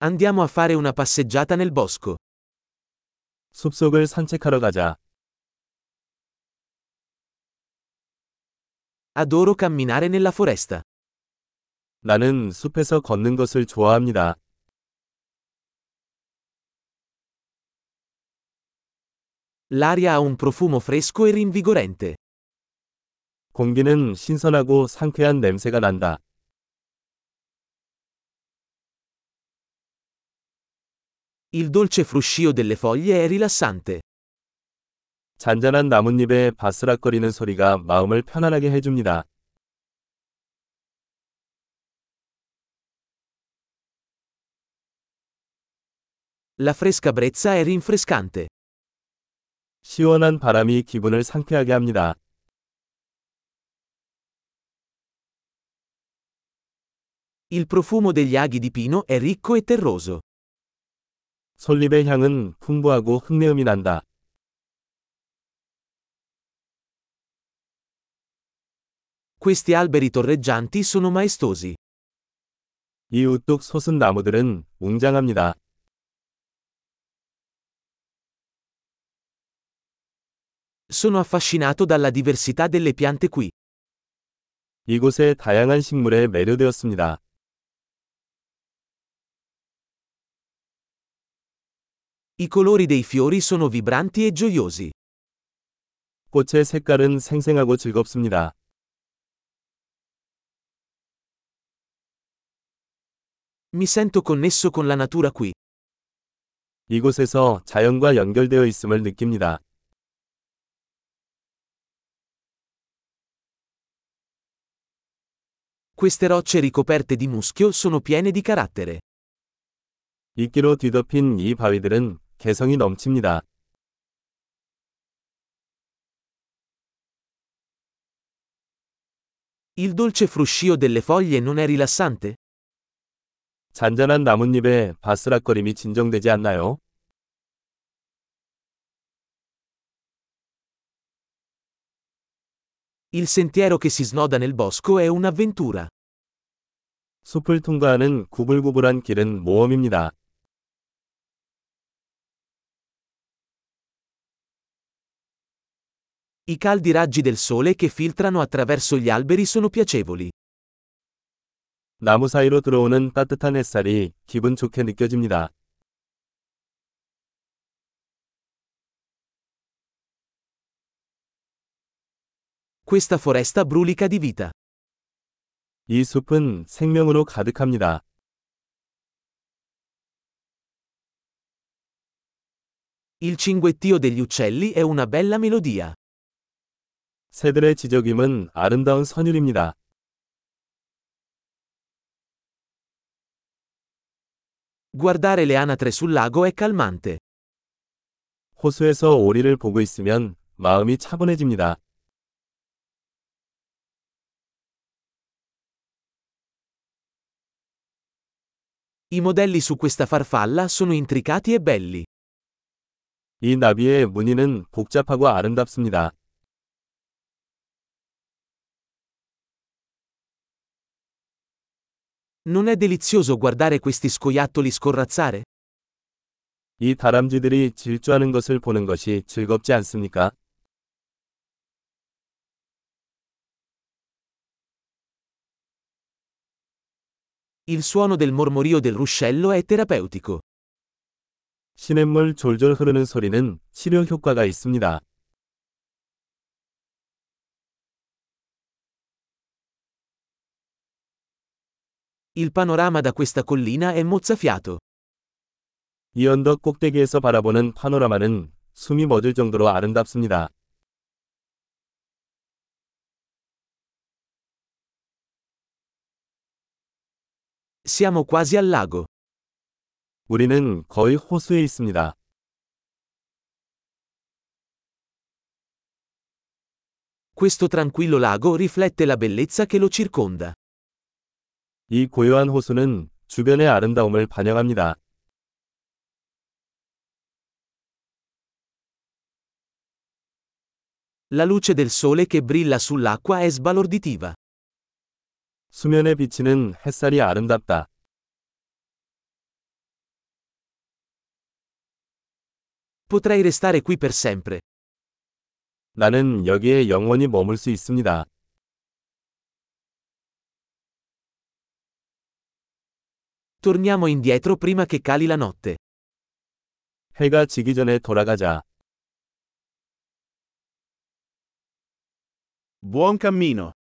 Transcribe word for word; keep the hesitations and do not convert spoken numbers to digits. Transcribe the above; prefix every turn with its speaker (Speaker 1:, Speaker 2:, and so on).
Speaker 1: Andiamo a fare una passeggiata nel bosco.
Speaker 2: 숲속을 산책하러 가자.
Speaker 1: Adoro camminare nella foresta.
Speaker 2: 나는 숲에서 걷는 것을 좋아합니다.
Speaker 1: L'aria ha un profumo fresco e rinvigorente.
Speaker 2: 공기는 신선하고 상쾌한 냄새가 난다.
Speaker 1: Il dolce fruscio delle foglie è rilassante.
Speaker 2: 잔잔한 나뭇잎의 바스락거리는 소리가 마음을 편안하게 해줍니다.
Speaker 1: La fresca brezza è rinfrescante.
Speaker 2: 시원한 바람이 기분을 상쾌하게 합니다.
Speaker 1: Il profumo degli aghi di pino è ricco e terroso.
Speaker 2: 솔잎의 향은 풍부하고 흙내음이 난다.
Speaker 1: Questi alberi torreggianti sono maestosi.
Speaker 2: 이 우뚝 솟은 나무들은 웅장합니다.
Speaker 1: Sono affascinato dalla diversità delle piante qui.
Speaker 2: 이곳의 다양한 식물에 매료되었습니다.
Speaker 1: I colori dei fiori sono vibranti e gioiosi.
Speaker 2: 꽃의 색깔은 생생하고 즐겁습니다.
Speaker 1: Mi sento connesso con la natura qui.
Speaker 2: 이곳에서 자연과 연결되어 있음을 느낍니다.
Speaker 1: Queste rocce ricoperte di muschio sono piene di carattere.
Speaker 2: 이끼로 뒤덮인 이 바위들은 개성이 넘칩니다.
Speaker 1: Il dolce fruscio delle foglie non è rilassante?
Speaker 2: 잔잔한 나뭇잎의 바스락거림이 진정되지 않나요?
Speaker 1: Il sentiero che si snoda nel bosco è un'avventura.
Speaker 2: 숲을 통과하는 구불구불한 길은 모험입니다.
Speaker 1: I caldi raggi del sole che filtrano attraverso gli alberi sono piacevoli.
Speaker 2: 나무 사이로 들어오는 따뜻한 햇살이 기분 좋게 느껴집니다.
Speaker 1: Questa foresta brulica di vita.
Speaker 2: 이 숲은 생명으로 가득합니다.
Speaker 1: Il cinguettio degli uccelli è una bella melodia.
Speaker 2: 새들의 지저귀는 아름다운 선율입니다.
Speaker 1: Guardare le anatre sul lago è calmante.
Speaker 2: 호수에서 오리를 보고 있으면 마음이 차분해집니다.
Speaker 1: I modelli su questa farfalla sono intricati e belli.
Speaker 2: 이 나비의 무늬는 복잡하고 아름답습니다.
Speaker 1: Non è delizioso guardare questi scoiattoli scorrazzare?
Speaker 2: 이 다람쥐들이 질주하는 것을 보는 것이 즐겁지 않습니까?
Speaker 1: Il suono del mormorio del ruscello è terapeutico.
Speaker 2: 시냇물 졸졸 흐르는 소리는 치료 효과가 있습니다.
Speaker 1: Il panorama da questa collina è mozzafiato.
Speaker 2: 이 언덕 꼭대기에서 바라보는 파노라마는 숨이 멎을 정도로 아름답습니다.
Speaker 1: Siamo quasi al lago.
Speaker 2: 우리는 거의 호수에 있습니다.
Speaker 1: Questo tranquillo lago riflette la bellezza che lo circonda.
Speaker 2: 이 고요한 호수는 주변의 아름다움을 반영합니다.
Speaker 1: La luce del sole che brilla sull'acqua è sbalorditiva.
Speaker 2: 수면에 비치는 햇살이 아름답다.
Speaker 1: Potrei restare qui per sempre.
Speaker 2: 나는 여기에 영원히 머물 수 있습니다.
Speaker 1: Torniamo indietro prima che cali la notte.
Speaker 2: 해가 지기 전에 돌아가자.
Speaker 3: Buon cammino.